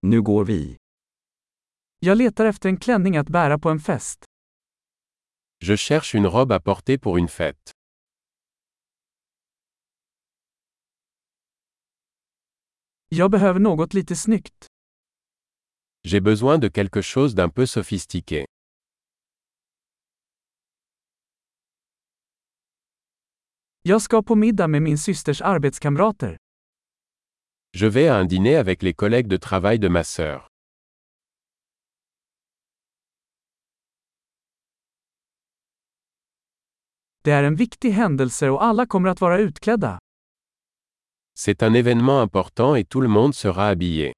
Nu går vi. Jag letar efter en klänning att bära på en fest. Je cherche une robe à porter pour une fête. Jag behöver något lite snyggt. J'ai besoin de quelque chose d'un peu sophistiqué. Jag ska på middag med min systers arbetskamrater. Je vais à un dîner avec les collègues de travail de ma sœur. Det är en viktig händelse och alla kommer att vara utklädda. C'est un événement important et tout le monde sera habillé.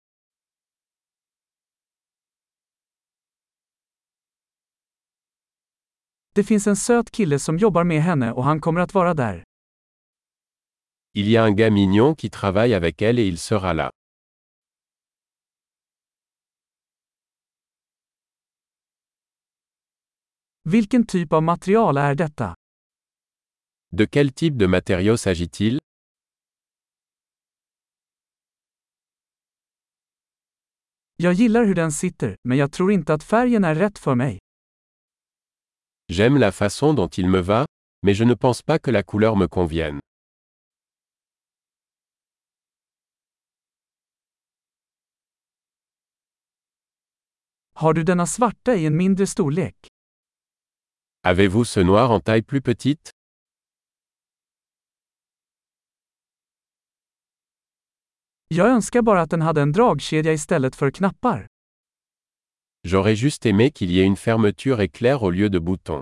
Det finns en söt kille som jobbar med henne och han kommer att vara där. Il y a un gars mignon qui travaille avec elle et il sera là. Vilken typ av material är detta? De quel type de matériau s'agit-il? Jag gillar hur den sitter, men jag tror inte att färgen är rätt för mig. J'aime la façon dont il me va, mais je ne pense pas que la couleur me convienne. Har du denna svarta i en mindre storlek? Avez-vous ce noir en taille plus petite? Jag önskar bara att den hade en dragkedja istället för knappar. J'aurais juste aimé qu'il y ait une fermeture éclair au lieu de boutons.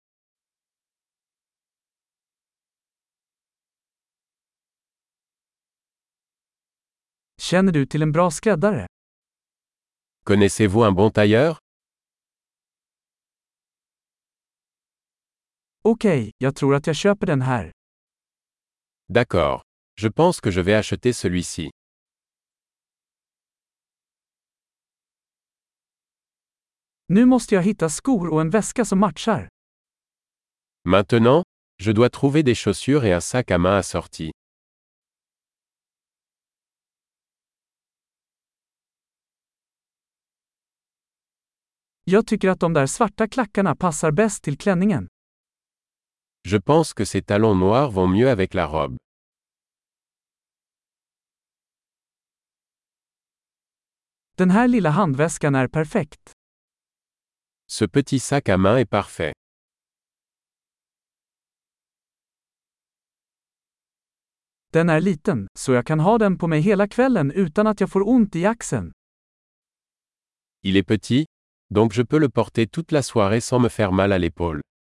Känner du till en bra skräddare? Connaissez-vous un bon tailleur? Okej, jag tror att jag köper den här. D'accord. Je pense que je vais acheter celui-ci. Nu måste jag hitta skor och en väska som matchar. Maintenant, je dois trouver des chaussures et un sac à main assorti. Jag tycker att de där svarta klackarna passar bäst till klänningen. Je pense que ces talons noirs vont mieux avec la robe. Den här lilla handväskan är perfekt. Ce petit sac à main est parfait. Den är liten, så jag kan ha den på mig hela kvällen utan att jag får ont i axeln. Il est petit, donc je peux le porter toute la soirée sans me faire mal à l'épaule.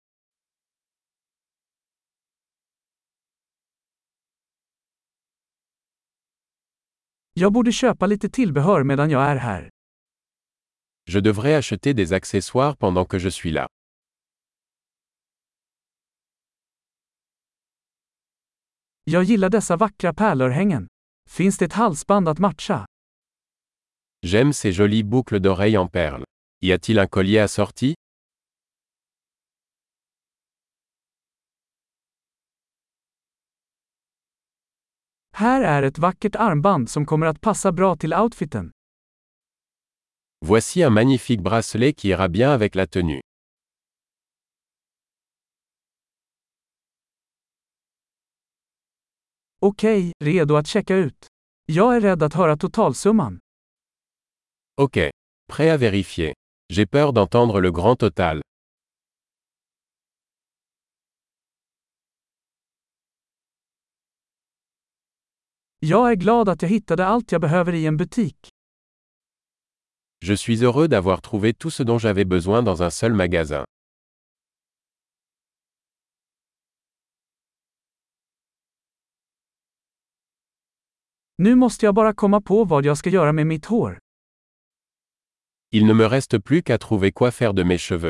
Jag borde köpa lite tillbehör medan jag är här. Je devrais acheter des accessoires pendant que je suis là. Jag gillar dessa vackra pärlörhängen. Finns det ett halsband att matcha? J'aime ces jolies boucles d'oreilles en perles. Y a-t-il un collier assorti? Här är ett vackert armband som kommer att passa bra till outfiten. Voici un magnifique bracelet qui ira bien avec la tenue. Okej, redo att checka ut. Jag är rädd att höra totalsumman. Ok. Prêt à vérifier. J'ai peur d'entendre le grand total. Jag är glad att jag hittade allt jag behöver i en butik. Je suis heureux d'avoir trouvé tout ce dont j'avais besoin dans un seul magasin. Nu måste jag bara komma på vad jag ska göra med mitt hår. Il ne me reste plus qu'à trouver quoi faire de mes cheveux.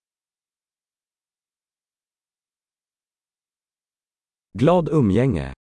Glad umgänge.